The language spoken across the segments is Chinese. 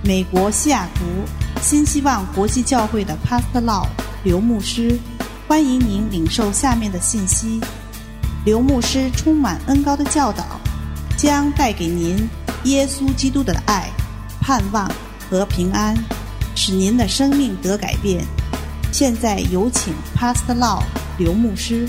美国西雅图新希望国际教会的 Pastor Lau 刘牧师，欢迎您领受下面的信息。刘牧师充满恩膏的教导，将带给您耶稣基督的爱、盼望和平安，使您的生命得改变。现在有请 Pastor Lau 刘牧师。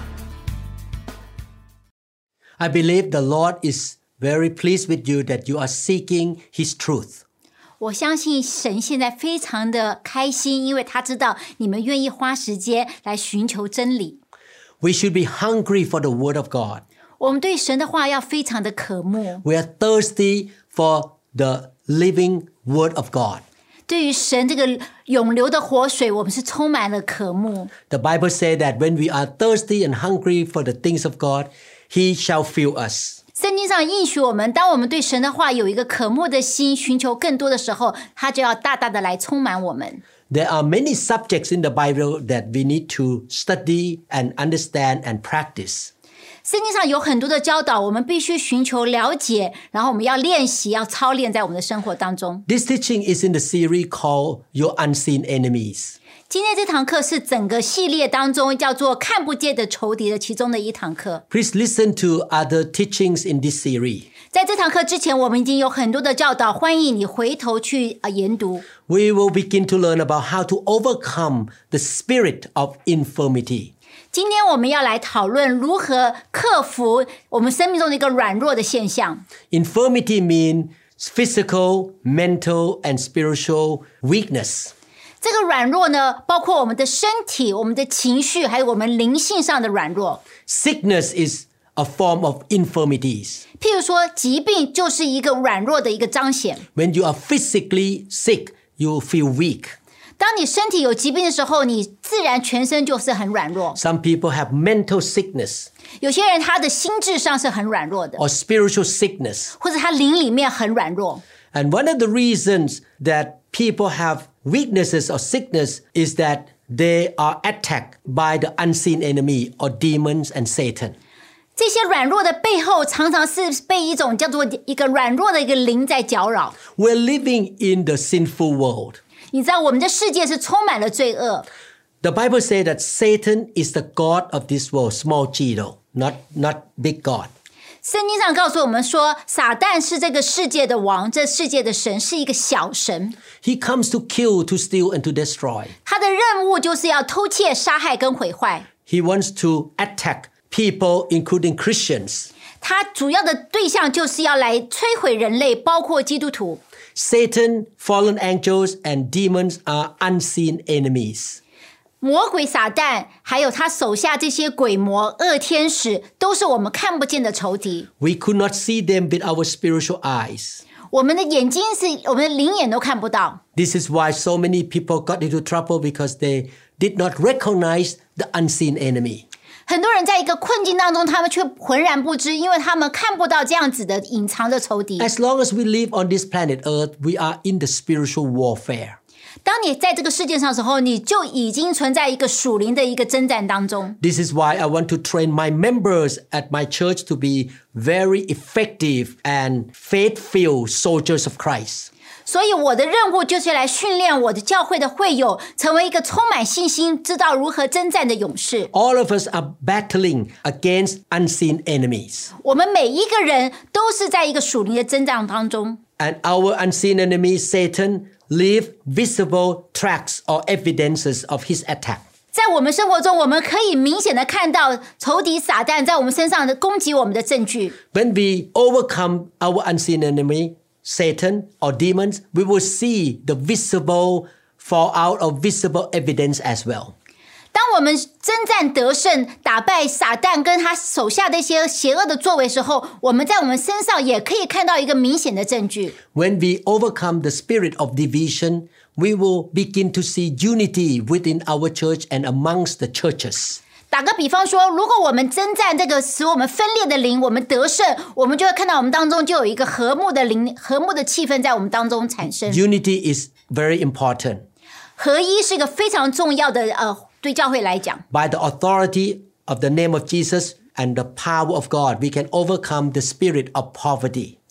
I believe the Lord is very pleased with you that you are seeking His truth. 我相信神现在非常的开心，因为他知道你们愿意花时间来寻求真理。 We should be hungry for the Word of God. 我们对神的话要非常的渴慕。 We are thirsty for the living Word of God. 对于神这个永流的活水，我们是充满了渴慕。 The Bible says that when we are thirsty and hungry for the things of God, He shall fill us. 圣经上应许我们，当我们对神的话有一个渴慕的心，寻求更多的时候，他就要大大的来充满我们。 There are many subjects in the Bible that we need to study and understand and practice. 圣经上有很多的教导，我们必须寻求了解，然后我们要练习，要操练在我们的生活当中。 This teaching is in the series called Your Unseen Enemies. 今天这堂课是整个系列当中叫做看不见的仇敌的其中的一堂课。 Please listen to other teachings in this series. 在这堂课之前，我们已经有很多的教导，欢迎你回头去研读。 We will begin to learn about how to overcome the spirit of infirmity. 今天我们要来讨论如何克服我们生命中的一个软弱的现象。 Infirmity means physical, mental, and spiritual weakness. 这个软弱呢，包括我们的身体、我们的情绪，还有我们灵性上的软弱。 Sickness is a form of infirmities. 譬如说，疾病就是一个软弱的一个彰显。 When you are physically sick, you feel weak. 当你身体有疾病的时候，你自然全身就是很软弱。 Some people have mental sickness 有些人他的心智上是很软弱的， or spiritual sickness. 或者他灵里面很软弱。 And one of the reasons that people have weaknesses or sickness is that they are attacked by the unseen enemy or demons and Satan. 这些软弱的背后，常常是被一种叫做一个软弱的一个灵在搅扰。 We're living in the sinful world. 你知道我们的世界是充满了罪恶。 The Bible says that Satan is the god of this world, small g though, not big God. 圣经上告诉我们说，撒旦是这个世界的王，这世界的神是一个小神。 He comes to kill, to steal, and to destroy. 他的任务就是要偷窃、杀害跟毁坏。 He wants to attack people, including Christians. 他主要的对象就是要来摧毁人类，包括基督徒。 Satan, fallen angels, and demons are unseen enemies. 魔鬼撒旦还有他手下这些鬼魔恶天使，都是我们看不见的仇敌。 We could not see them with our spiritual eyes. 我们的眼睛是我们的灵眼都看不到。 This is why so many people got into trouble because they did not recognize the unseen enemy. 很多人在一个困境当中，他们却浑然不知，因为他们看不到这样子的隐藏的仇敌。 As long as we live on this planet Earth, we are in the spiritual warfare. 当你在这个世界上的时候，你就已经存在一个属灵的一个征战当中。 This is why I want to train my members at my church to be very effective and faith-filled soldiers of Christ. 所以我的任务就是来训练我的教会的会友，成为一个充满信心、知道如何征战的勇士。 All of us are battling against unseen enemies. 我们每一个人都是在一个属灵的征战当中。 And our unseen enemy, Satan, leave visible tracks or evidences of his attack. 在我们生活中，我们可以明显的看到仇敌撒旦在我们身上的攻击我们的证据。 When we overcome our unseen enemy, Satan or demons, we will see the visible fallout of visible evidence as well. 当我们征战得胜，打败撒旦跟他手下的一些邪恶的作为的时候，我们在我们身上也可以看到一个明显的证据。 When we overcome the spirit of division, we will begin to see unity within our church and amongst the churches. 打个比方说，如果我们征战这个使我们分裂的灵，我们得胜，我们就会看到我们当中就有一个和睦的灵、和睦的气氛在我们当中产生。 Unity is very important. 合一是一个非常重要的对教会来讲。 By the authority of the name of Jesus and the power of God, we can overcome the spirit of poverty.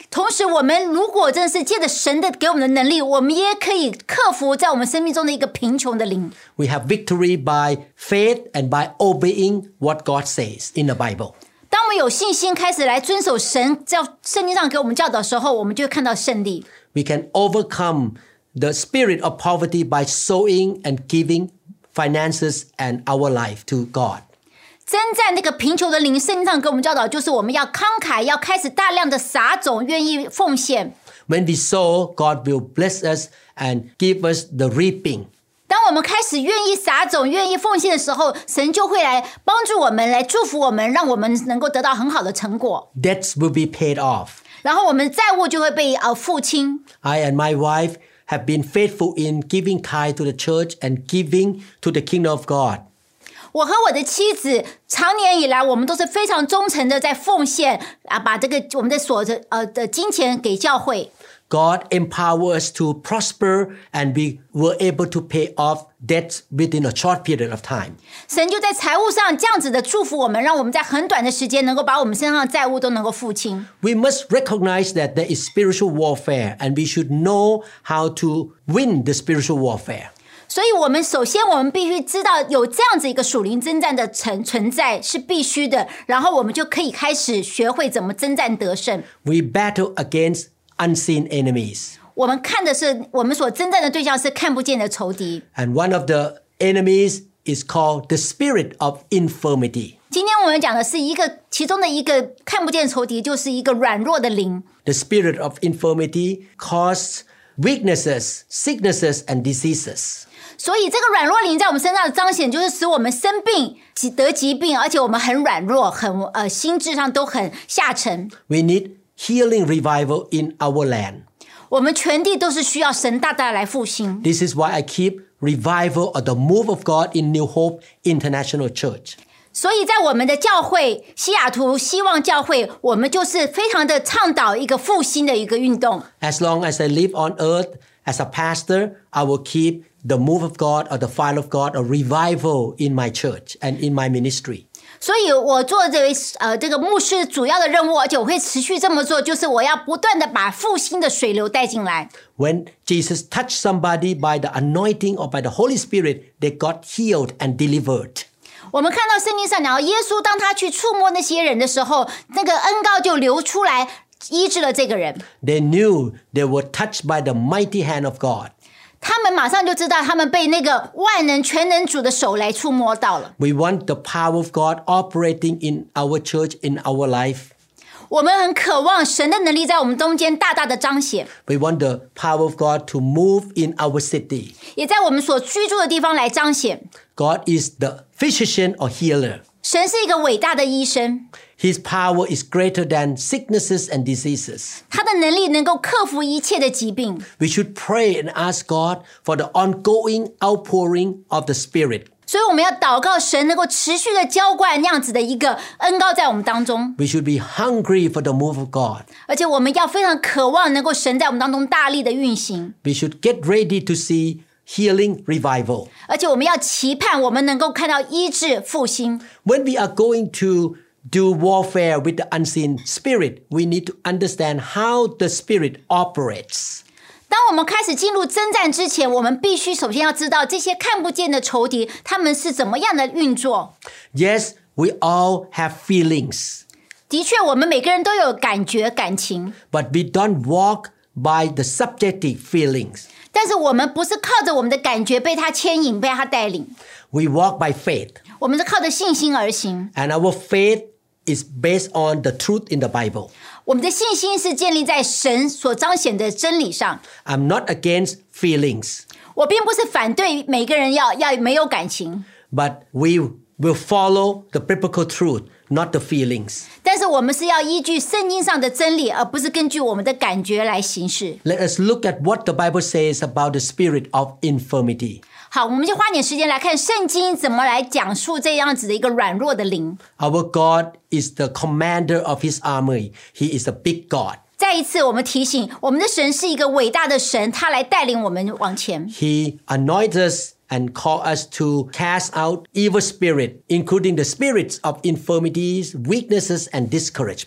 同时我们如果真的是借着神的给我们的能力，我们也可以克服在我们生命中的一个贫穷的灵。 We have victory by faith and by obeying what God says in the Bible. 当我们有信心开始来遵守神在圣经上给我们教导的时候，我们就会看到胜利。 We can overcome the spirit of poverty by sowing and giving finances and our life to God. 征战那个贫穷的灵，圣经上给我们教导，就是我们要慷慨，要开始大量的撒种，愿意奉献。 When we sow, God will bless us and give us the reaping. 当我们开始愿意撒种、愿意奉献的时候，神就会来帮助我们，来祝福我们，让我们能够得到很好的成果。 Debts will be paid off. 然后我们债务就会被付清。 I and my wife have been faithful in giving tithe to the church and giving to the kingdom of God. 我和我的妻子长年以来，我们都是非常忠诚的在奉献把这个我们的的金钱给教会。 God empowered us to prosper and we were able to pay off debts within a short period of time. 神就在财务上这样子的祝福我们，让我们在很短的时间能够把我们身上的债务都能够付清。 We must recognize that there is spiritual warfare and we should know how to win the spiritual warfare. 所以我们首先我们必须知道有这样子一个属灵征战的存在是必须的，然后我们就可以开始学会怎么征战得胜。 We battle against unseen enemies. 我们看的是我们所征战的对象是看不见的仇敌。 And one of the enemies is called the spirit of infirmity. 今天我们讲的是其中的一个看不见的仇敌，就是一个软弱的灵。 The spirit of infirmity causes weaknesses, sicknesses, and diseases. 所以这个软弱灵在我们身上的彰显，就是使我们生病、得疾病，而且我们很软弱，很心智上都很下沉。 We need healing revival in our land. 我们全地都是需要神大大来复兴。 This is why I keep revival or the move of God in New Hope International Church. 所以在我们的教会西雅图希望教会，我们就是非常的倡导一个复兴的一个运动。 As long as I live on earth as a pastor, I will keep the move of God or the fire of God or revival in my church and in my ministry. 所以我做这个牧师主要的任务，而且我会持续这么做，就是我要不断的把复兴的水流带进来。 When Jesus touched somebody by the anointing or by the Holy Spirit, they got healed and delivered. 我们看到圣经上讲，耶稣当他去触摸那些人的时候，那个恩膏就流出来，医治了这个人。 They knew they were touched by the mighty hand of God. 他们马上就知道，他们被那个万能全能主的手来触摸到了。 We want the power of God operating in our church, in our life. 我们很渴望神的能力在我们中间大大的彰显， We want the power of God to move in our city. 也在我们所居住的地方来彰显。 God is the physician or healer. 神是一个伟大的医生， His power is greater than sicknesses and diseases. 他的能力能够克服一切的疾病。 We should pray and ask God for the ongoing outpouring of the Spirit. 所以我们要祷告神能够持续的浇灌那样子的一个恩膏在我们当中， We should be hungry for the move of God. 而且我们要非常渴望能够神在我们当中大力的运行， We should get ready to see healing revival. 而且我们要期盼我们能够看到医治复兴。 When we are going to do warfare with the unseen spirit, we need to understand how the spirit operates. 当我们开始进入征战之前，我们必须首先要知道这些看不见的仇敌他们是怎么样的运作。 Yes, we all have feelings, 的确，我们每个人都有感觉、感情， but we don't walk by the subjective feelings. 但是我们不是靠着我们的感觉被他牵引、被他带领， We walk by faith, 我们是靠着信心而行。 and our faith is based on the truth in the Bible. 我们的信心是建立在神所彰显的真理上。 I'm not against feelings, 我并不是反对每个人要没有感情， but we will follow the biblical truth, not the feelings. 但是我们是要依据圣经上的真理，而不是根据我们的感觉来行事。 Let us look at what the Bible says about the spirit of infirmity. 好，我们就花点时间来看圣经怎么来讲述这样子的一个软弱的灵。 Our God is the commander of his army. He is a big God. 再一次，我们提醒，我们的神是一个伟大的神，他来带领我们往前。 He anoints us and calls us to cast out evil spirit, including the spirits of infirmities, weaknesses, and discouragement.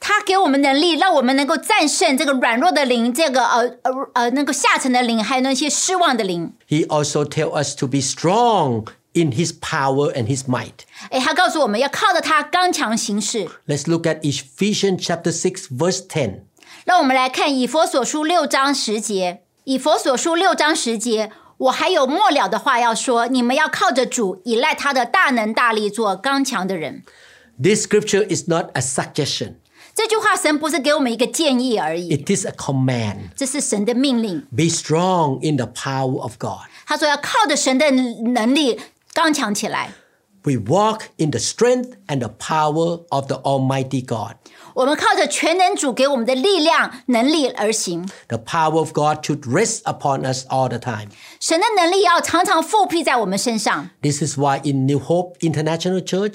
他给我们能力，让我们能够战胜这个软弱的灵，这个那个下沉的灵，还有那些失望的灵。 He also tells us to be strong in his power and his might. 他告诉我们要靠着他刚强行事。 Let's look at Ephesians chapter 6 verse 10. 让我们来看以弗所书6章10节。以弗所书6章10节，我还有末了的话要说，你们要靠着主，依赖他的大能大力，做刚强的人。 This scripture is not a suggestion. 这句话神不是给我们一个建议而已， It is a command. 这是神的命令。 Be strong in the power of God. 他说要靠着神的能力刚强起来。 We walk in the strength and the power of the Almighty God. 我们靠着全能主给我们的力量能力而行。 The power of God should rest upon us all the time. 神的能力要常常复辟在我们身上。 This is why in New Hope International Church,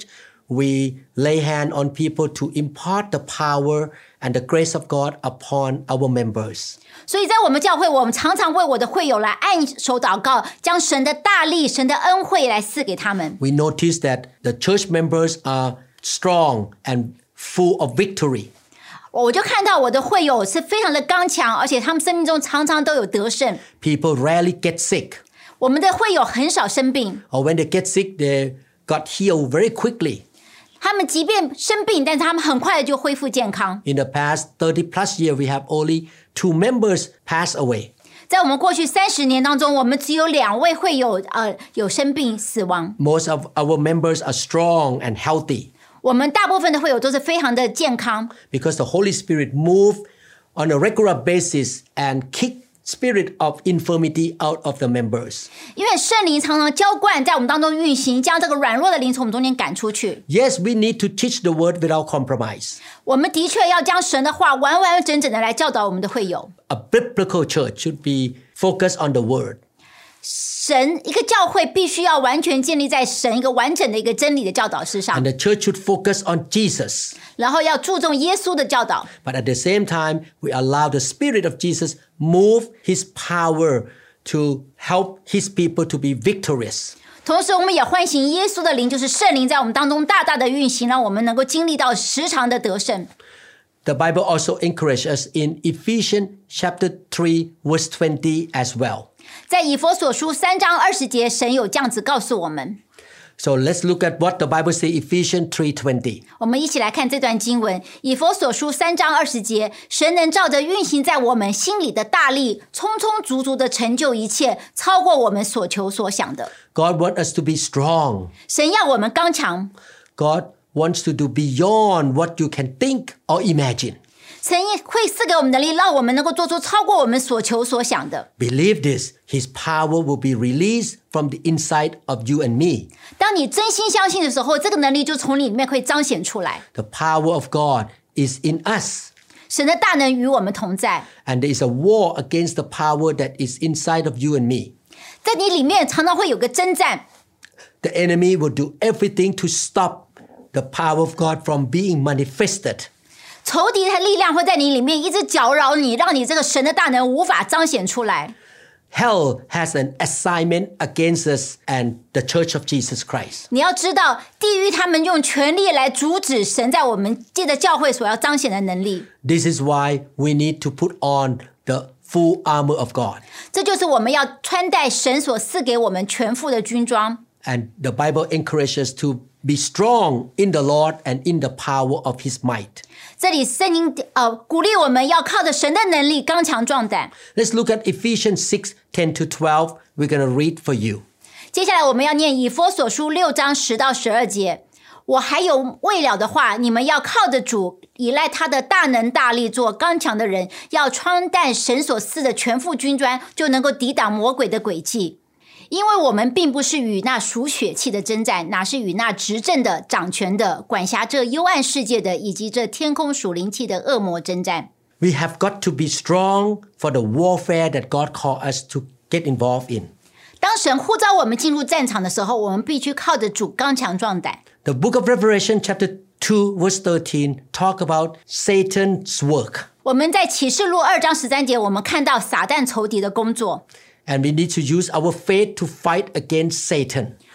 we lay hand on people to impart the power and the grace of God upon our members. 所以在我们教会，我们常常为我的会友来按手祷告，将神的大力、神的恩惠来赐给他们。 We notice that the church members are strong and full of victory. 我就看到我的会友是非常的刚强，而且他们生命中常常都有得胜。 People rarely get sick. 我们的会友很少生病， Or when they get sick, they got healed very quickly. 他们即便生病，但是他们很快的就恢复健康。 In the past 30 plus years, we have only 2 members pass away. 在我们过去30年当中，我们只有2位会友有生病死亡。 Most of our members are strong and healthy 我们大部分的会友都是非常的健康， because the Holy Spirit move on a regular basis and kick spirit of infirmity out of the members. 因为圣灵常常浇灌在我们当中运行，将这个软弱的灵从我们中间赶出去。 Yes, we need to teach the word without compromise. 我们的确要将神的话完完整整的来教导我们的会友。 A biblical church should be focused on the word. 神一个教会必须要完全建立在神一个完整的一个真理的教导之上 And，the church should focus on Jesus. 然后要注重耶稣的教导。 But at the same time, we allow the Spirit of Jesus move His power to help His people to be victorious. 同时，我们也欢迎耶稣的灵，就是圣灵在我们当中大大的运行，让我们能够经历到时常的得胜。 The Bible also encourages us in Ephesians chapter 3 verse 20 as well. 在以弗所书3章20节，神有这样子告诉我们。 So let's look at what the Bible says, Ephesians 3:20. 我们一起来看这段经文，以弗所书3章20节，神能照着运行在我们心里的大力，充充足足的成就一切，超过我们所求所想的。 God wants us to be strong. 神要我们刚强， God wants to do beyond what you can think or imagine. 神会赐给我们能力，让我们能够做出超过我们所求所想的。 Believe this, His power will be released from the inside of you and me. 当你真心相信的时候，这个能力就从你里面会彰显出来。 The power of God is in us. 神的大能与我们同在， And there is a war against the power that is inside of you and me. 在你里面常常会有个征战。 The enemy will do everything to stop the power of God from being manifested. 仇敌的力量会在你里面一直搅扰你，让你这个神的大能无法彰显出来。 Hell has an assignment against us and the Church of Jesus Christ. 你要知道，地狱他们用权力来阻止神在我们借着教会所要彰显的能力。 This is why we need to put on the full armor of God. 这就是我们要穿戴神所赐给我们全副的军装。 And the Bible encourages us to be strong in the Lord and in the power of His might. 这里圣经鼓励我们要靠着神的能力刚强壮胆。 Let's look at Ephesians 6:10 to 12. We're going to read for you. 接下来我们要念以弗所书6章10到12节。我还有未了的话，你们要靠着主，依赖他的大能大力，做刚强的人，要穿戴神所赐的全副军装，就能够抵挡魔鬼的诡计。因为我们并不是与那属血气的征战，哪是与那执政的、掌权的、管辖这幽暗世界的，以及这天空属灵气的恶魔征战。 We have got to be strong for the warfare that God called us to get involved in. 当神呼召我们进入战场的时候，我们必须靠着主刚强壮胆。 The book of Revelation chapter 2 verse 13 talk about Satan's work. 我们在启示录2章13节，我们看到撒旦仇敌的工作。 And we need to use our faith to fight against Satan.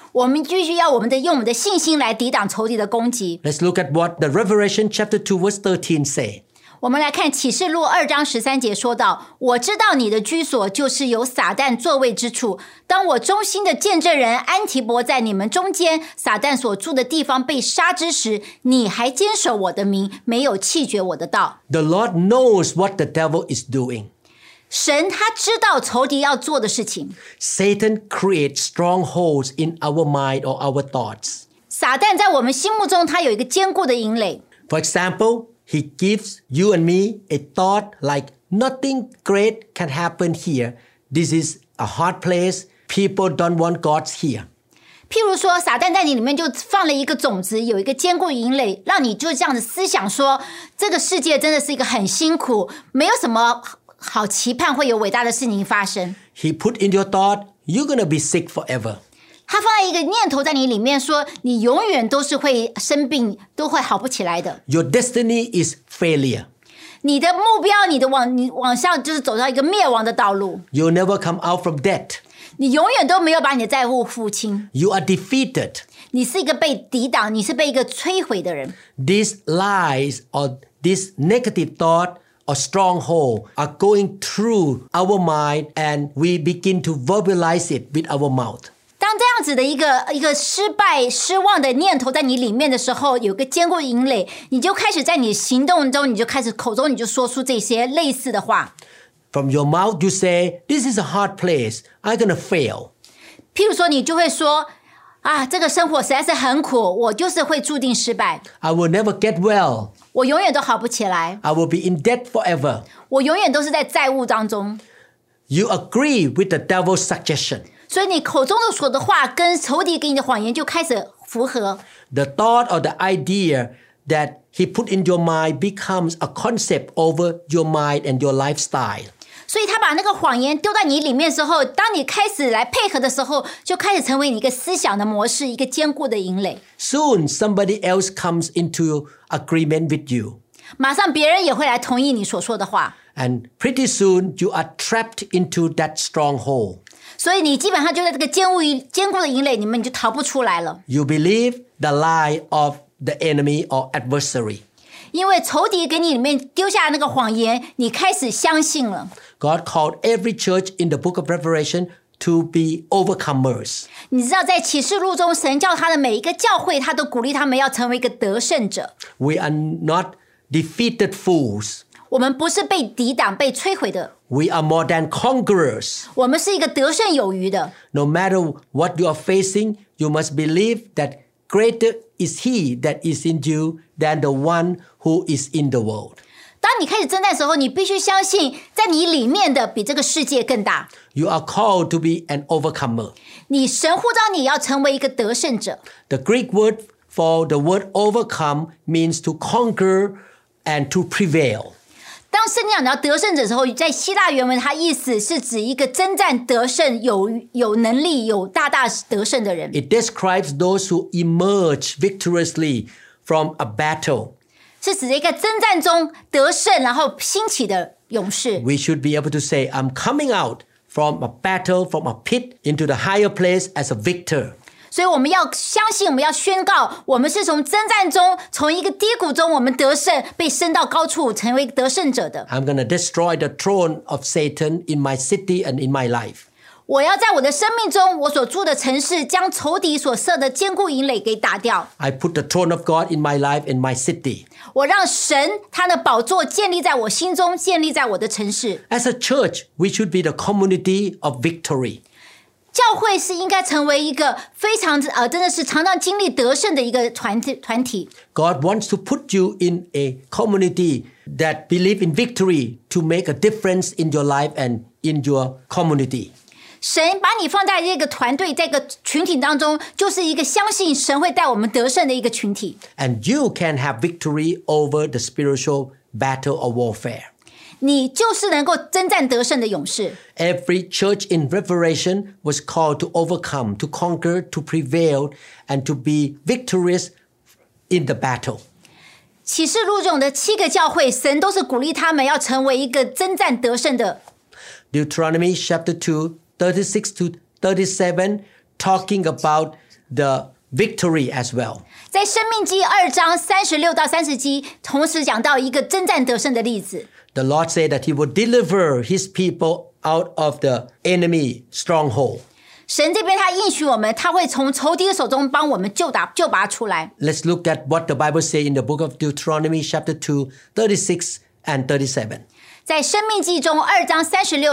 我们必须要用我们的信心来抵挡仇敌的攻击。 Let's look at what the Revelation chapter 2 verse 13 say. 我们来看启示录2章13节说到，我知道你的居所就是有撒旦座位之处，当我忠心的见证人安提伯在你们中间，撒旦所住的地方被杀之时，你还坚守我的名，没有弃绝我的道。 The Lord knows what the devil is doing. 神他知道仇敌要做的事情。 Satan creates strongholds in our mind or our thoughts. 撒旦在我们心目中他有一个坚固的营垒。 For example, he gives you and me a thought like nothing great can happen here. This is a hard place. People don't want God's here. 譬如说，撒旦在你里面就放了一个种子，有一个坚固营垒，让你就这样子思想说，这个世界真的是一个很辛苦，没有什么好期盼会有伟大的事情发生。 He put in your thought, you're going to be sick forever. 他放在一个念头在你里面说，你永远都是会生病，都会好不起来的。 Your destiny is failure. 你的目标，你往上就是走到一个灭亡的道路。 You'll never come out from debt. 你永远都没有把你的债务付清。 You are defeated. 你是一个被抵挡，你是被一个摧毁的人。 These lies or this negative thought or stronghold are going through our mind and we begin to verbalize it with our mouth. 当这样子的一个失败、失望的念头在你里面的时候，有个坚固营垒，你就开始在你行动中，你就开始口中你就说出这些类似的话。 From your mouth you say, this is a hard place. I'm going to fail. 譬如说，你就会说啊，这个生活实在是很苦，我就是会注定失败， I will never get well. 我永远都好不起来， I will be in debt forever. 我永远都是在债务当中。 You agree with the devil's suggestion. 所以你口中的说的话跟仇敌给你的谎言就开始符合。 The thought or the idea that he put in your mind becomes a concept over your mind and your lifestyle. 所以他把那个谎言丢在你里面的时候，当你开始来配合的时候，就开始成为你一个思想的模式，一个坚固的营垒。 Soon somebody else comes into agreement with you. 马上别人也会来同意你所说的话， And pretty soon you are trapped into that stronghold. 所以你基本上就在这个坚固的营垒里面，你就逃不出来了。 You believe the lie of the enemy or adversary. 因为仇敌给你里面丢下那个谎言，你开始相信了。 God called every church in the book of Revelation to be overcomers. 你知道，在启示录中，神叫他的每一个教会，他都鼓励他们要成为一个得胜者。 We are not defeated fools. 我们不是被抵挡、被摧毁的， We are more than conquerors. 我们是一个得胜有余的。 No matter what you are facing, you must believe that greater is he that is in you than the one who is in the world. 当你开始征战的时候，你必须相信，在你里面的比这个世界更大。 You are called to be an overcomer. 你神呼召你要成为一个得胜者。 The Greek word for the word overcome means to conquer and to prevail. 当圣经讲到得胜者的时候，在希腊原文，它意思是指一个征战得胜、有能力、有大得胜的人。 It describes those who emerge victoriously from a battle. 是指一个征战中得胜，然后兴起的勇士。 We should be able to say, I'm coming out from a battle, from a pit into the higher place as a victor. 所以我们要相信，我们要宣告，我们是从征战中，从一个低谷中，我们得胜，被升到高处，成为得胜者的。 I'm going to destroy the throne of Satan in my city and in my life. 我要在我的生命中，我所住的城市，将仇敌所设的坚固营垒给打掉。 I put the throne of God in my life and my city. 我让神他的宝座建立在我心中，建立在我的城市。 As a church, we should be the community of victory. 教会是应该成为一个非常真的是常常经历得胜的一个团体。 God wants to put you in a community that believe in victory to make a difference in your life and in your community. 神把你放在这个团队、这个群体当中，就是一个相信神会带我们得胜的一个群体。 And you can have victory over the spiritual battle or warfare. 你就是能够征战得胜的勇士。 Every church in Revelation was called to overcome, to conquer, to prevail, and to be victorious in the battle. 启示录中的7个教会，神都是鼓励他们要成为一个征战得胜的。 Deuteronomy chapter 2, 36 to 37, talking about the victory as well. 在申命记2章36到30节，同时讲到一个征战得胜的例子。 The Lord said that he would deliver his people out of the enemy stronghold. 神这边他应许我们，他会从仇敌的手中帮我们救拔出来。 Let's look at what the Bible says in the book of Deuteronomy chapter 2, 36 and 37. 在申命记中2章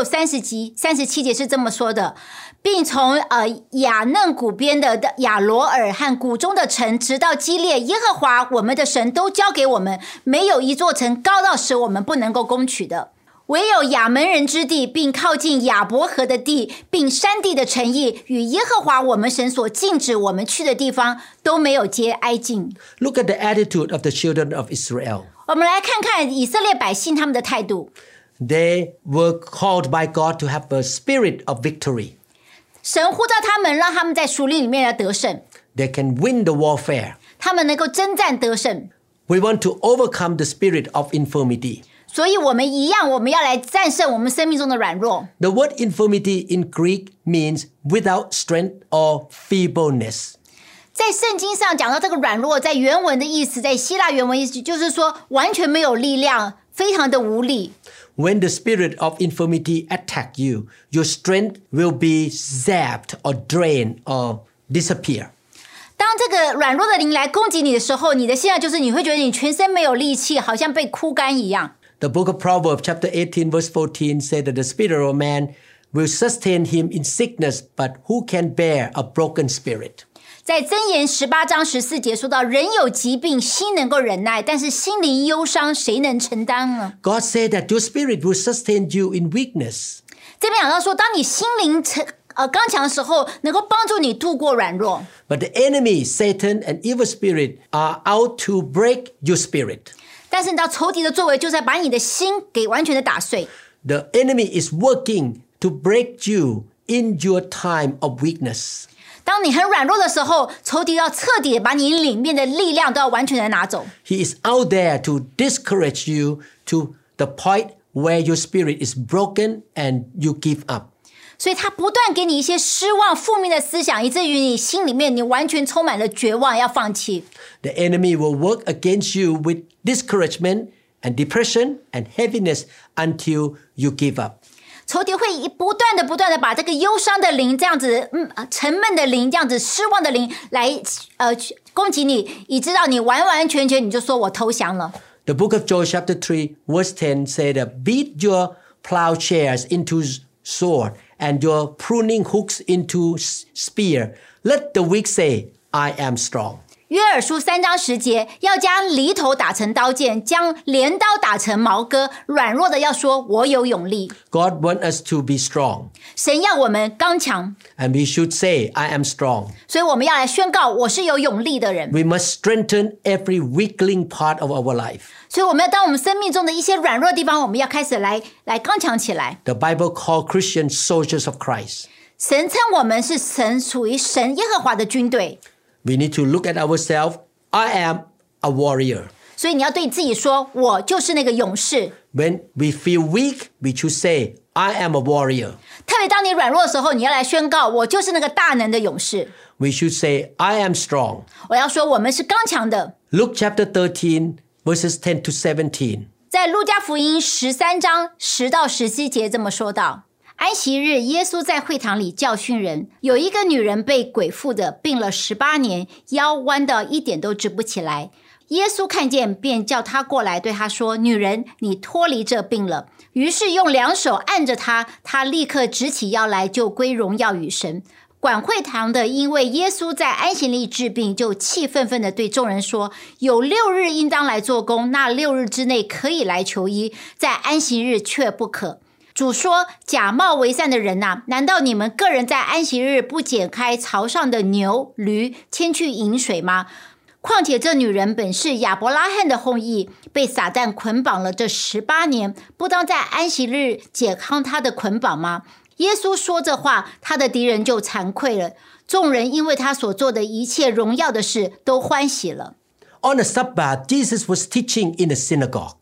36、37节是这么说的，并从雅嫩谷边的亚罗尔和谷中的城，直到基列，耶和华我们的神都交给我们，没有一座城高到使我们不能够攻取的。唯有亚门人之地，并靠近亚伯河的地，并山地的城邑，与耶和华我们神所禁止我们去的地方，都没有接挨近。 Look at the attitude of the children of Israel. 我们来看看以色列百姓他们的态度。 They were called by God to have a spirit of victory. 神呼召他们，让他们在属灵里面来得胜。 They can win the warfare. 他们能够征战得胜。 We want to overcome the spirit of infirmity. 所以我们一样，我们要来战胜我们生命中的软弱。 The word infirmity in Greek means without strength or feebleness. 在圣经上讲到这个软弱，在原文的意思，在希腊原文意思就是说完全没有力量，非常的无力。 When the spirit of infirmity attack you, your strength will be zapped or drained or disappear. 当这个软弱的灵来攻击你的时候，你的现在就是你会觉得你全身没有力气，好像被枯干一样。 The book of Proverbs chapter 18 verse 14 said that the spirit of man will sustain him in sickness, but who can bear a broken spirit? 在箴言18章14节说到，人有疾病，心能够忍耐，但是心灵忧伤，谁能承担呢？ God said that your spirit will sustain you in weakness. 这边讲到说，当你心灵刚强的时候，能够帮助你度过软弱。 But the enemy, Satan and evil spirit are out to break your spirit. 但是你知道仇敌的作为就是在把你的心给完全的打碎。 The enemy is working to break you in your time of weakness. 当你很软弱的时候，仇敌要彻底的把你里面的力量都要完全的拿走。 He is out there to discourage you to the point where your spirit is broken and you give up. 所以他不断给你一些失望、负面的思想，以至于你心里面你完全充满了绝望，要放弃。 The enemy will work against you with discouragement and depression and heaviness until you give up. 仇敌会不断的把这个忧伤的灵，这样子沉闷的灵，这样子失望的灵来攻击你，以致到你完完全全你就说我投降了。 The book of Joel chapter 3 verse 10 said that beat your plowshares into sword and your pruning hooks into spear. Let the weak say, I am strong. 约珥书3章10节，要将犁头打成刀剑，将镰刀打成矛戈，软弱的要说我有勇力。 God wants us to be strong. 神要我们刚强， And we should say, I am strong. 所以我们要来宣告我是有勇力的人。 We must strengthen every weakling part of our life. 所以我们要当我们生命中的一些软弱的地方，我们要开始来刚强起来。 The Bible calls Christians soldiers of Christ. 神称我们是神属于神耶和华的军队。 We need to look at ourselves. I am a warrior. 所以你要对自己说，我就是那个勇士。 When we feel weak, we should say, I am a warrior. 特别当你软弱的时候，你要来宣告，我就是那个大能的勇士。 We should say, I am strong. 我要说，我们是刚强的。 Luke chapter 13, verses 10 to 17. 在路加福音13章10到17节这么说道：安息日，耶稣在会堂里教训人，有一个女人被鬼附的，病了18年，腰弯到一点都直不起来。耶稣看见，便叫她过来，对她说：女人，你脱离这病了。于是用2手按着她，她立刻直起腰来，就归荣耀与神。管会堂的因为耶稣在安息日治病，就气愤愤地对众人说：有6日应当来做工，那6日之内可以来求医，在安息日却不可。主说：假冒为善的人啊，难道你们个人在安息日不解开槽上的牛驴，牵去饮水吗？况且这女人本是亚伯拉罕的后裔，被撒旦捆绑了这18年，不当在安息日解开她的捆绑吗？耶稣说这话，他的敌人就惭愧了。众人因为他所做的一切荣耀的事，都欢喜了。 On the Sabbath, Jesus was teaching in the synagogue.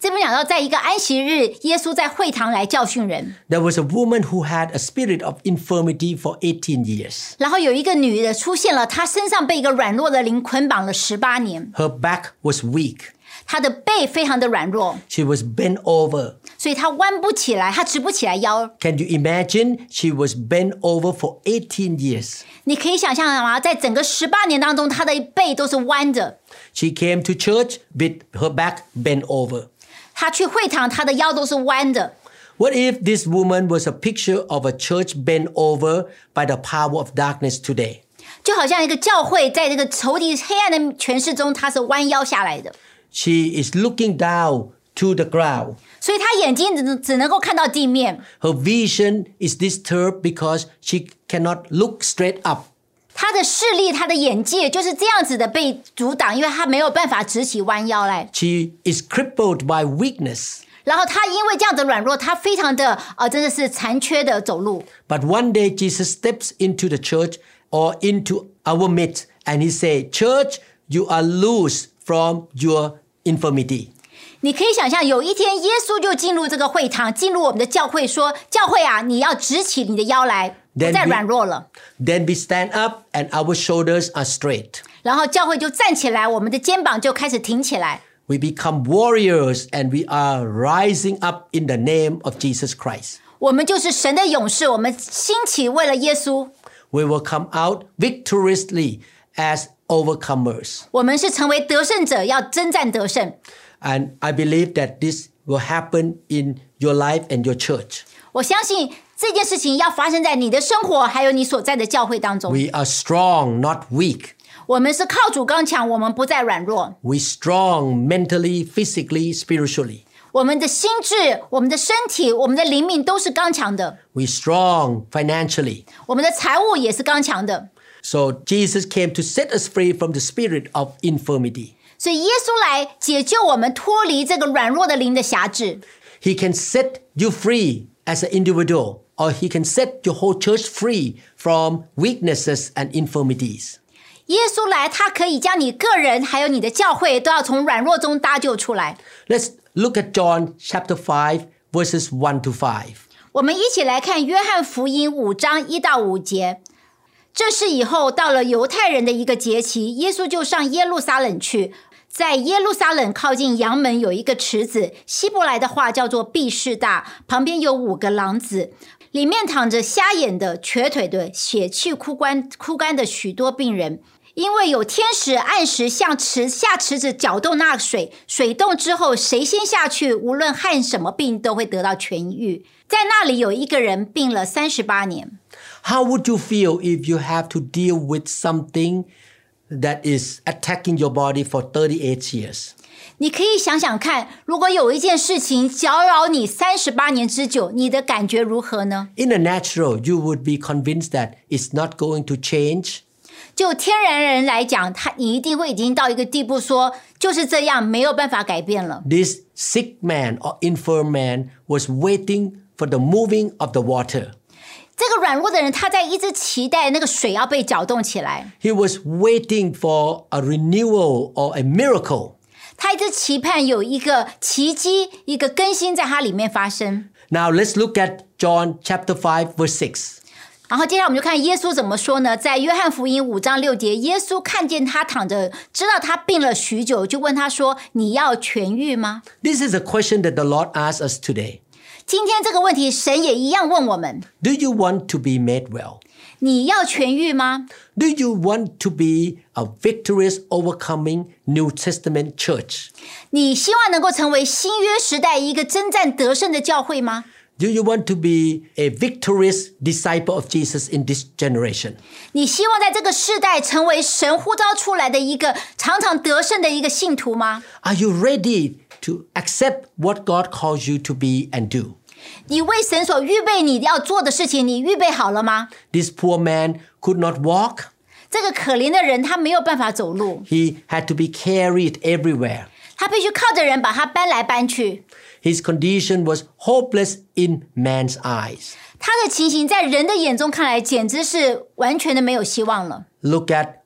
这边讲到，在一个安息日，耶稣在会堂来教训人。 There was a woman who had a spirit of infirmity for 18 years. 然后有一个女的出现了，她身上被一个软弱的灵捆绑了18年， Her back was weak. 她的背非常的软弱， She was bent over. 所以她弯不起来，她直不起来腰。 Can you imagine? She was bent over for 18 years. 你可以想象吗？在整个18年当中，她的背都是弯着。 She came to church with her back bent over. 她去会堂，她的腰都是弯的。 What if this woman was a picture of a church bent over by the power of darkness today? 就好像一个教会在这个仇敌黑暗的权势中，她是弯腰下来的， She is looking down to the ground. 所以她眼睛只能够看到地面。 Her vision is disturbed because she cannot look straight up. 她的视力、她的眼界就是这样子的被阻挡，因为她没有办法直起弯腰来。 She is crippled by weakness. 然后她因为这样的软弱，她非常的真的是残缺的走路。 But one day Jesus steps into the church or into our midst and he said, Church, you are loose from your infirmity. 你可以想象，有一天耶稣就进入这个会堂，进入我们的教会，说：“教会啊，你要直起你的腰来，不再软弱了。” Then we stand up and our shoulders are straight. 然后教会就站起来，我们的肩膀就开始挺起来。 We become warriors and we are rising up in the name of Jesus Christ. 我们就是神的勇士，我们兴起为了耶稣。 We will come out victoriously as overcomers. 我们是成为得胜者，要征战得胜。 And I believe that this will happen in your life and your church. 我相信这件事情要发生在你的生活，还有你所在的教会当中。 We are strong, not weak. 我们是靠主刚强，我们不再软弱。 We strong mentally, physically, spiritually. 我们的心智、我们的身体、我们的灵命都是刚强的。 We strong financially. 我们的财务也是刚强的。 So Jesus came to set us free from the spirit of infirmity. 所以耶稣来解救我们，脱离这个软弱的灵的辖制。 He can set you free as an individual, or he can set your whole church free from weaknesses and infirmities. 耶稣来，他可以将你个人还有你的教会都要从软弱中搭救出来。 Let's look at John chapter 5, verses 1 to 5. 我们一起来看约翰福音5章1到5节。这事以后，到了犹太人的一个节期，耶稣就上耶路撒冷去。在耶路撒冷靠近羊门有一个池子，希伯来的话叫做毕士大，旁边有5个廊子，里面躺着瞎眼的、瘸腿的、血气枯干的许多病人。因为有天使按时向下池子搅动那水，水动之后，谁先下去，无论患什么病，都会得到痊愈。在那里有一个人病了38年。 How would you feel if you have to deal with something that is attacking your body for 38 years? 你可以想想看，如果有一件事情搅扰你38年之久，你的感觉如何呢？ In the natural, you would be convinced that it's not going to change. 就天然人来讲，你一定会已经到一个地步说，就是这样，没有办法改变了。 This sick man or infirm man was waiting for the moving of the water. 这个软弱的人，他在一直期待那个水要被搅动起来。 He was waiting for a renewal or a miracle. 他一直期盼有一个奇迹、一个更新在他里面发生。 Now let's look at John chapter 5, verse 6. 然后接下来我们就看耶稣怎么说呢？在约翰福音5章6节，耶稣看见他躺着，知道他病了许久，就问他说：“你要痊愈吗？” This is a question that the Lord asks us today. 今天这个问题，神也一样问我们： Do you want to be made well? 你要痊愈吗？ Do you want to be a victorious, overcoming New Testament church? 你希望能够成为新约时代一个征战得胜的教会吗？ Do you want to be a victorious disciple of Jesus in this generation? 你希望在这个世代成为神呼召出来的一个常常得胜的一个信徒吗？ Are you ready to accept what God calls you to be and do? 你为神所预备你要做的事情，你预备好了吗？ This poor man could not walk. 这个可怜的人，他没有办法走路， He had to be carried everywhere. 他必须靠着人把他搬来搬去。 His condition was hopeless in man's eyes. 他的情形在人的眼中看来，简直是完全的没有希望了。 Look at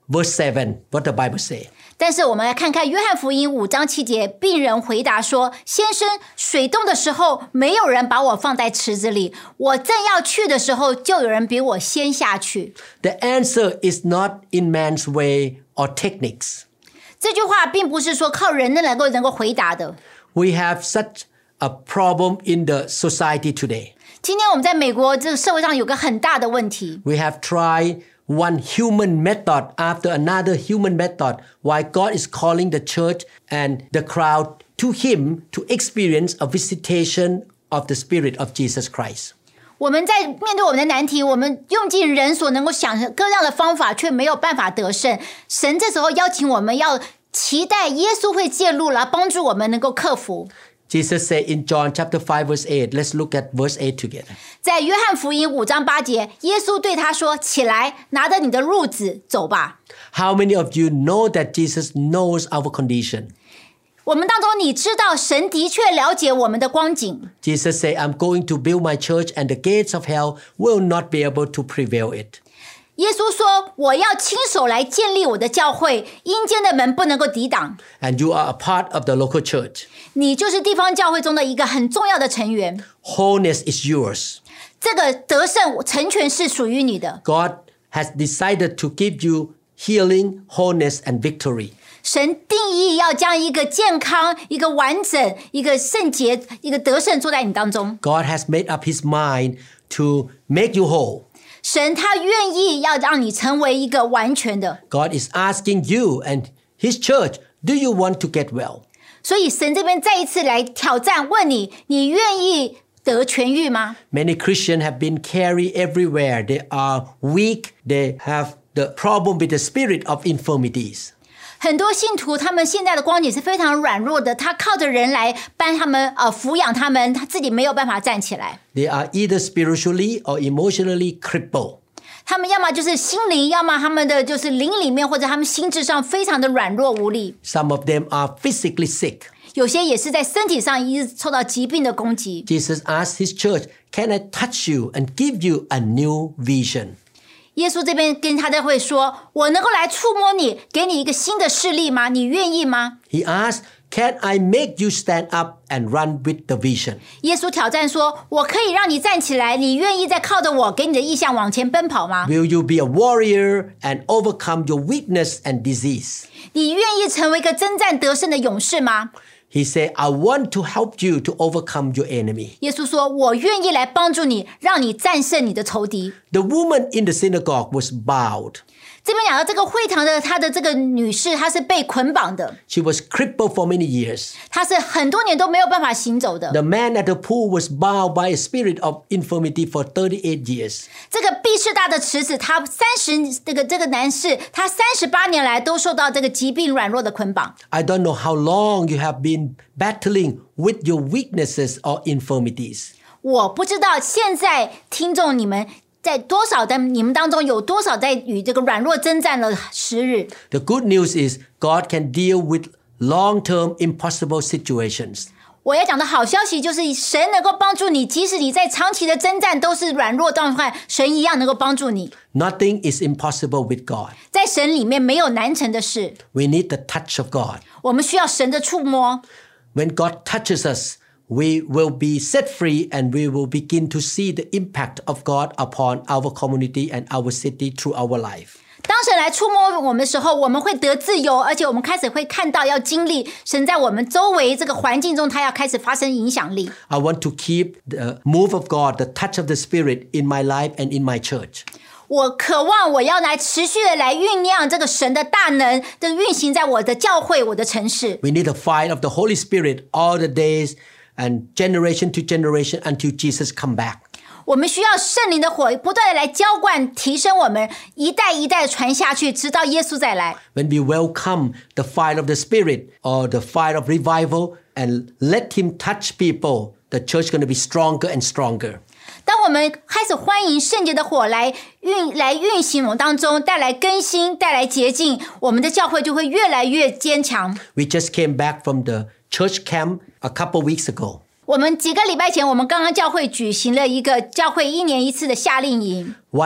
verse 7, what the Bible say. 但是我们来看看约翰福音5章7节，病人回答说：先生，水冻的时候，没有人把我放在池子里，我正要去的时候，就有人比我先下去。 The answer is not in man's way or techniques. 这句话并不是说靠人能够回答的。 We have such a problem in the society today. 今天我们在美国这个社会上有个很大的问题。 We have tried one human method after another human method while God is calling the church and the crowd to Him to experience a visitation of the Spirit of Jesus Christ. 我们在面对我们的难题，我们用尽人所能够想各样的方法，却没有办法得胜。神这时候邀请我们要期待耶稣会介入来帮助我们能够克服。 Jesus said in John chapter 5 verse 8, let's look at verse 8 together. 在约翰福音5章8节，耶稣对他说：起来，拿着你的褥子走吧。 How many of you know that Jesus knows our condition? 我们当中你知道神的确了解我们的光景。 Jesus said, I'm going to build my church and the gates of hell will not be able to prevail it. 耶稣说：我要亲手来建立我的教会，阴间的门不能够抵挡。 And you are a part of the local church. 你就是地方教会中的一个很重要的成员。 Wholeness is yours. 这个得胜成全是属于你的。 God has decided to give you healing, wholeness, and victory. 神定义要将一个健康、一个完整、一个圣洁、一个得胜坐在你当中。 God has made up his mind to make you whole. 神他愿意要让你成为一个完全的。 God is asking you and his church, do you want to get well? 所以神这边再一次来挑战，问你：你愿意得痊愈吗？ Many Christians have been carried everywhere. They are weak. They have the problem with the spirit of infirmities. 很多信徒他们现在的光景是非常软弱的，他靠着人来帮他们抚养他们，他自己没有办法站起来。 They are either spiritually or emotionally crippled. 他们要么就是心灵，要么他们的就是灵里面或者他们心智上非常的软弱无力。 Some of them are physically sick. 有些也是在身体上一直受到疾病的攻击。 Jesus asked his church, can I touch you and give you a new vision? 耶稣这边跟他教会说：我能够来触摸你，给你一个新的视力吗？你愿意吗？ He asked, can I make you stand up and run with the vision? 耶稣挑战说：我可以让你站起来，你愿意再靠着我给你的意向往前奔跑吗？ Will you be a warrior and overcome your weakness and disease? 你愿意成为一个征战得胜的勇士吗？ He said, I want to help you to overcome your enemy. 耶稣说：我愿意来帮助你，让你战胜你的仇敌。 The woman in the synagogue was bowed. 这边讲到这个会堂的她的这个女士，她是被捆绑的， She was crippled for many years. 她是很多年都没有办法行走的。 The man at the pool was bound by a spirit of infirmity for 38 years. 这个毕士大的池子，他这个男士，他38年来都受到这个疾病软弱的捆绑。 I don't know how long you have been battling with your weaknesses or infirmities. 我不知道现在听众你们在多少的你们当中有多少在与这个软弱征战了时日。 The good news is God can deal with long-term impossible situations. 我要讲的好消息就是神能够帮助你，即使你在长期的征战都是软弱状态，神一样能够帮助你。 Nothing is impossible with God. 在神里面没有难成的事， We need the touch of God. 我们需要神的触摸。 When God touches us, we will be set free and we will begin to see the impact of God upon our community and our city through our life. 当神来触摸我们的时候，我们会得自由，而且我们开始会看到要经历神在我们周围这个环境中，他要开始发生影响力。 I want to keep the move of God, the touch of the Spirit in my life and in my church. 我渴望我要来持续的来酝酿这个神的大能的运行在我的教会、我的城市。 We need the fire of the Holy Spirit all the days and generation to generation until Jesus come back. 我们需要圣灵的火不断的来浇灌提升我们，一代一代的传下去，直到耶稣再来。 When we welcome the fire of the Spirit or the fire of revival and let him touch people, the church is going to be stronger and stronger. 当我们开始欢迎圣洁的火来运行我们当中，带来更新，带来洁净，我们的教会就会越来越坚强。 We just came back from the church camp a couple weeks ago. 我们几个礼拜前，我们刚刚教会举行了一个教会1年1次的夏令营。 One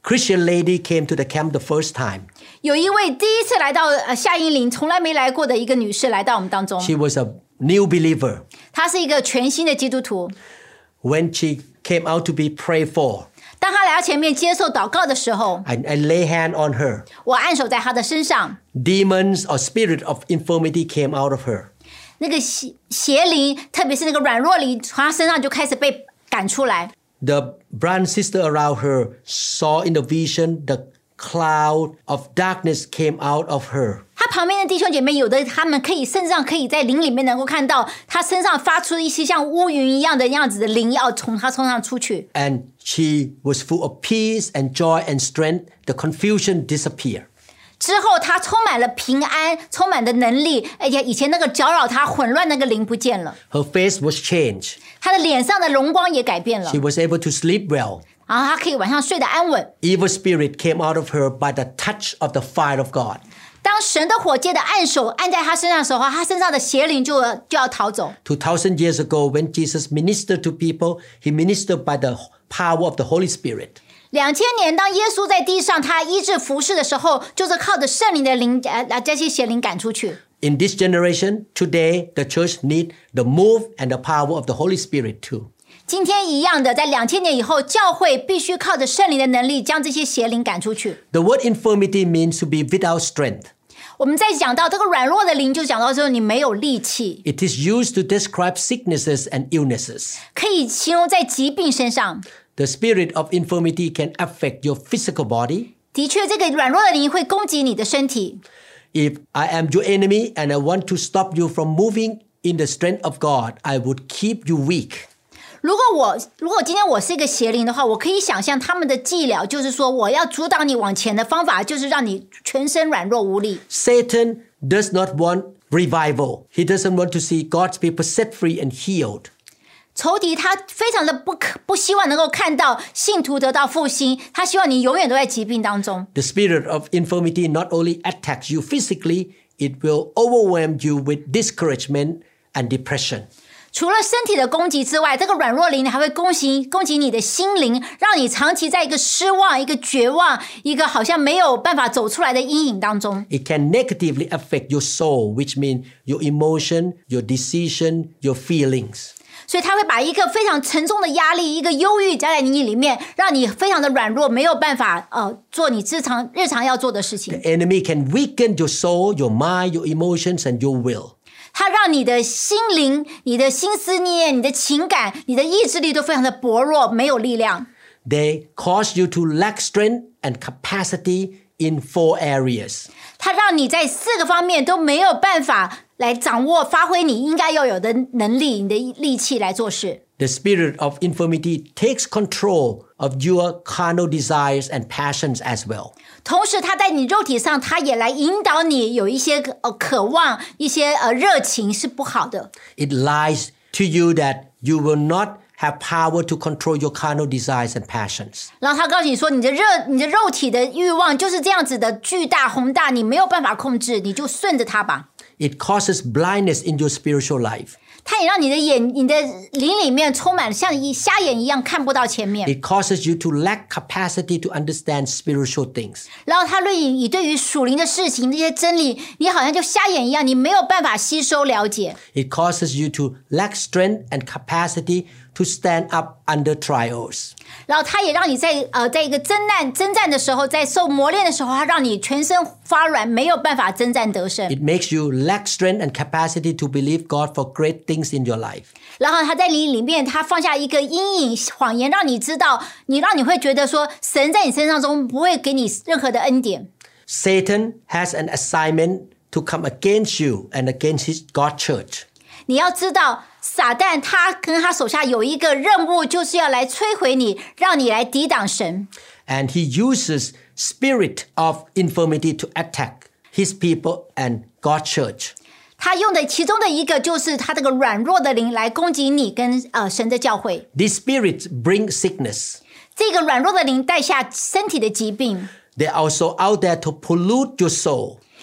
Christian lady came to the camp the first time. 有一位第一次来到夏英林从来没来过的一个女士来到我们当中， She was a new believer. 她是一个全新的基督徒。 When she came out to be prayed for, 当她来到前面接受祷告的时候， I lay hand on her. 我按手在她的身上， Demons or spirit of infirmity came out of her. 那个邪灵，特别是那个软弱灵，从她身上就开始被赶出来。 The brother and sister around her saw in the vision the cloud of darkness came out of her. 她旁边的弟兄姐妹，有的他们可以甚至上可以在灵里面能够看到她身上发出一些像乌云一样的样子的灵要从她身上出去。 And she was full of peace and joy and strength. The confusion disappeared. 之后，她充满了平安，充满的能力，而且以前那个搅扰她混乱那个灵不见了， Her face was changed. 她的脸上的荣光也改变了 She，was able to sleep well. 然后她可以晚上睡得安稳。 Evil spirit came out of her by the touch of the fire of God. 当神的火借的按手按在她身上的时候，她身上的邪灵就要逃走。 2,000 years ago, when Jesus ministered to people, he ministered by the power of the Holy Spirit. 2000年，当耶稣在地上他医治服侍的时候，就是靠着圣灵的灵这些邪灵赶出去。 In this generation, today, the church needs the move and the power of the Holy Spirit too. 今天一样的，在2000年以后，教会必须靠着圣灵的能力将这些邪灵赶出去。 The word infirmity means to be without strength. 我们在讲到这个软弱的灵，就讲到说你没有力气， It is used to describe sicknesses and illnesses. 可以形容在疾病身上。 The spirit of infirmity can affect your physical body. 的确，这个软弱的灵会攻击你的身体。 If I am your enemy and I want to stop you from moving in the strength of God, I would keep you weak. 如果今天我是一个邪灵的话，我可以想象他们的伎俩就是说，我要阻挡你往前的方法，就是让你全身软弱无力。 Satan does not want revival. He doesn't want to see God's people set free and healed. 仇敌他非常的不希望能够看到信徒得到复兴，他希望你永远都在疾病当中。 The spirit of infirmity not only attacks you physically, it will overwhelm you with discouragement and depression. 除了身体的攻击之外，这个软弱灵还会攻击你的心灵，让你长期在一个失望、一个绝望、一个好像没有办法走出来的阴影当中。 It can negatively affect your soul, which means your emotion, your decision, your feelings. 所以他会把一个非常沉重的压力、一个忧郁加在你里面，让你非常的软弱，没有办法做你日常要做的事情。 The enemy can weaken your soul, your mind, your emotions, and your will. 它让你的心灵、你的心思念、你的情感、你的意志力都非常的薄弱，没有力量。 They cause you to lack strength and capacity in 4 areas. 它让你在4个方面都没有办法来掌握、发挥你应该要有的能力、你的力气来做事。 The spirit of infirmity takes control of your carnal desires and passions as well. 同时，它在你肉体上，它也来引导你有一些渴望、一些热情是不好的。 It lies to you that you will not have power to control your carnal desires and passions. 然后他告诉你说，你的肉体的欲望就是这样子的巨大宏大，你没有办法控制，你就顺着它吧。 It causes blindness in your spiritual life. 它也让你的灵里面充满像瞎眼一样看不到前面。 It causes you to lack capacity to understand spiritual things. 然后它对你对于属灵的事情这些真理，你好像就瞎眼一样，你没有办法吸收了解。 It causes you to lack strength and capacity to stand up under trials. 然后它也让你在一个征战的时候，在受磨练的时候，它让你全身发软，没有办法征战得胜。 It makes you lack strength and capacity to believe God for great things in your life. 然后它在你里面，它放下一个阴影谎言，让你知道，让你会觉得说，神在你身上中不会给你任何的恩典。 Satan has an assignment to come against you and against God's church. 你要知道，撒旦他跟他手下有一个任务，就是要来摧毁你，让你来抵挡神。 And he uses spirit of infirmity to attack his people and God's church. 他用的其中的一个就是他这个软弱的灵来攻击你跟神的教会。 These spirits bring sickness. 这个软弱的灵带下身体的疾病， They're also out there to pollute your soul.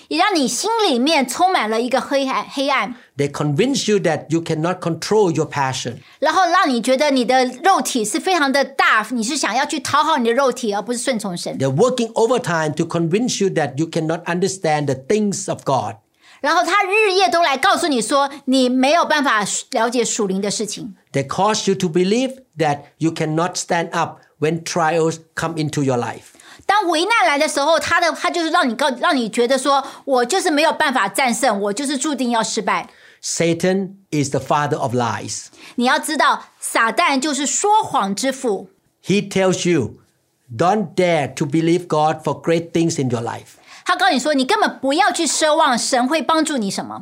也让你心里面充满了一个黑暗， They convince you that you cannot control your passion. 然后让你觉得你的肉体是非常的大，你是想要去讨好你的肉体，而不是顺从神。 They're working overtime to convince you that you cannot understand the things of God. 然后他日夜都来告诉你说，你没有办法了解属灵的事情。 They cause you to believe that you cannot stand up when trials come into your life. 当危难来的时候，他就是让你觉得说，我就是没有办法战胜，我就是注定要失败。 Satan is the father of lies. 你要知道，撒旦就是说谎之父。 He tells you, don't dare to believe God for great things in your life. 他告诉你说，你根本不要去奢望神会帮助你什么。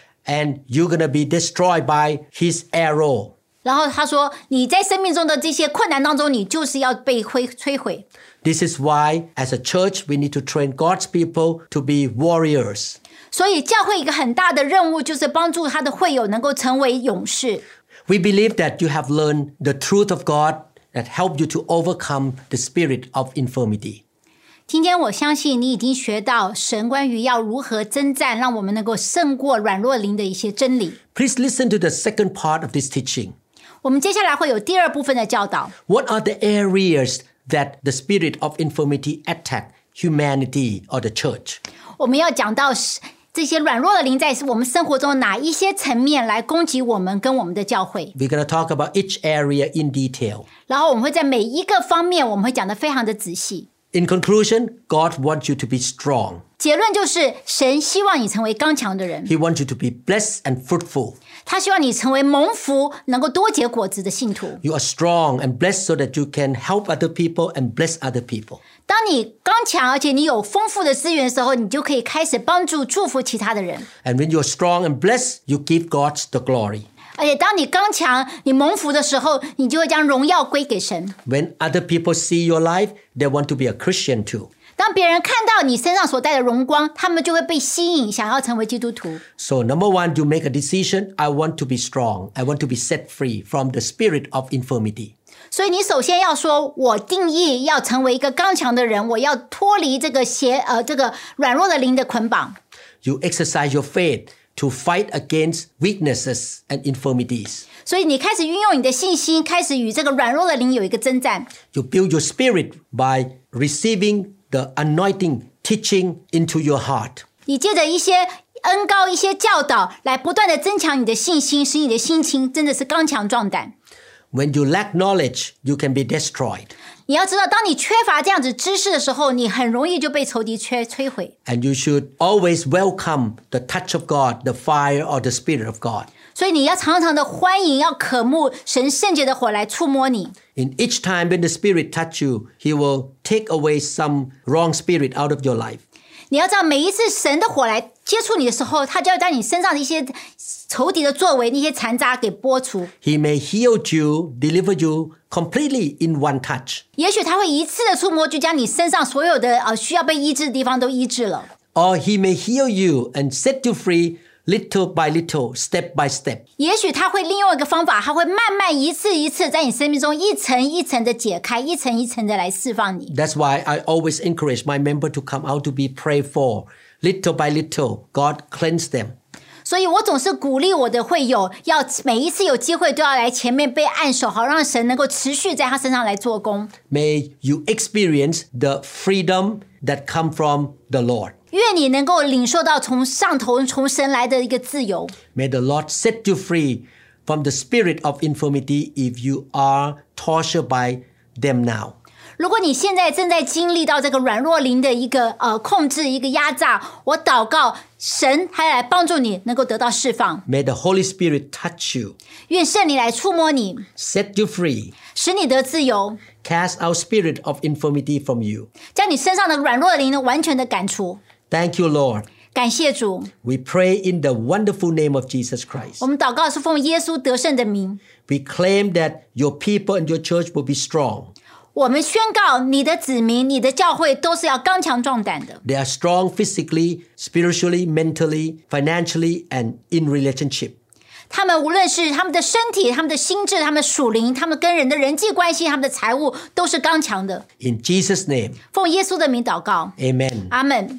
And you're going to be destroyed by his arrow. 然后他说，你在生命中的这些困难当中，你就是要被摧毁。 This is why, as a church, we need to train God's people to be warriors. 所以教会一个很大的任务就是帮助他的会友能够成为勇士。 We believe that you have learned the truth of God that help you to overcome the spirit of infirmity. 今天我相信你已经学到神关于要如何征战，让我们能够胜过软弱灵的一些真理。 Please listen to the second part of this teaching. 我们接下来会有第二部分的教导。 What are the areas that the spirit of infirmity attack humanity or the church? 我们要讲到这些软弱的灵在我们生活中哪一些层面来攻击我们跟我们的教会。 We're going to talk about each area in detail. 然后我们会在每一个方面我们会讲得非常的仔细。 In conclusion, God wants you to be strong. 结论就是神希望你成为刚强的人， He wants you to be blessed and fruitful. 他希望你成为蒙福能够多结果子的信徒。 You are strong and blessed so that you can help other people and bless other people. 当你刚强而且你有丰富的资源的时候，你就可以开始帮助祝福其他的人。 And when you're strong and blessed, you give God the glory. 而且当你刚强你蒙福的时候，你就会将荣耀归给神。 When other people see your life, they want to be a Christian too. 当别人看到你身上所带的荣光，他们就会被吸引，想要成为基督徒。 So number one, you make a decision. I want to be strong. I want to be set free from the spirit of infirmity. 所以你首先要说，我定义要成为一个刚强的人，我要脱离这个软弱的灵的捆绑。 You exercise your faith to fight against weaknesses and infirmities. 所以你开始运用你的信心，开始与这个软弱的灵有一个征战。 You build your spirit by receiving the anointing teaching into your heart. 你借着一些恩膏、一些教导，来不断的增强你的信心，使你的心情真的是刚强壮胆。 When you lack knowledge, you can be destroyed. 你要知道，当你缺乏这样子知识的时候，你很容易就被仇敌摧毁。 And you should always welcome the touch of God, the fire or the spirit of God. 所以你要常常的欢迎，要渴慕神圣洁的火来触摸你。 In each time when the spirit touch you, he will take away some wrong spirit out of your life. 你要知道，每一次神的火来接触你的时候，他就要将你身上的一些仇敌的作为、那些残渣给剥除。 He may heal you, deliver you completely in one touch. 也许他会一次的触摸，就将你身上所有的需要被医治的地方都医治了。 Or he may heal you and set you free little by little, step by step. 也许他会利用一个方法，他会慢慢一次一次在你生命中一层一层的解开，一层一层的来释放你。 That's why I always encourage my member to come out to be prayed for. Little by little, God cleanse them. 所以我总是鼓励我的会友，要每一次有机会都要来前面被按手，好让神能够持续在他身上来做工。 May you experience the freedom that come from the Lord. 愿你能够领受到从上头从神来的一个自由。 May the Lord set you free from the spirit of infirmity if you are tortured by them now. 如果你现在正在经历到这个软弱灵的一个控制、一个压榨，我祷告神还来帮助你能够得到释放。 May the Holy Spirit touch you, 愿圣灵来触摸你， set you free, 使你得自由， cast out spirit of infirmity from you. 将你身上的软弱的灵呢完全的赶除。 Thank you, Lord. 感谢主， We pray in the wonderful name of Jesus Christ. 我们祷告是奉耶稣得胜的名。 We claim that your people and your church will be strong. 我们宣告你的子民、你的教会都是要刚强壮胆的。 They are strong physically, spiritually, mentally, financially, and in relationship. 他们无论是他们的身体、他们的心智、他们的属灵、他们跟人的人际关系、他们的财务，都是刚强的。 In Jesus' name, 奉耶稣的名祷告， amen. 阿们。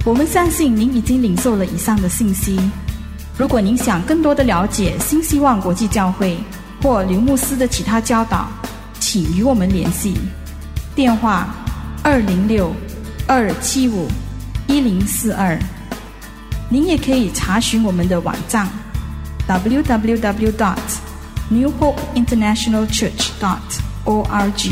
我们相信您已经领受了以上的信息。如果您想更多的了解新希望国际教会或刘牧师的其他教导，请与我们联系。电话206-275-1042。您也可以查询我们的网站 www.newhopeinternationalchurch.org。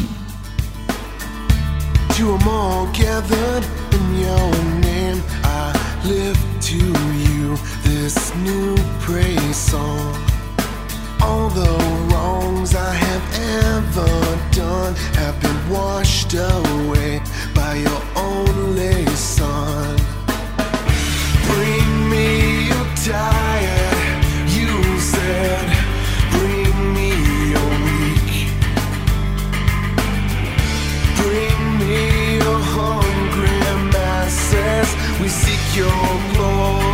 To 'em all gathered in your name, I lift to you this new praise song. All the wrongs I have ever done have been washed away by your only Son. Bring me your tired, you said. Bring me your weak. Bring me your hungry masses. We seek your glory.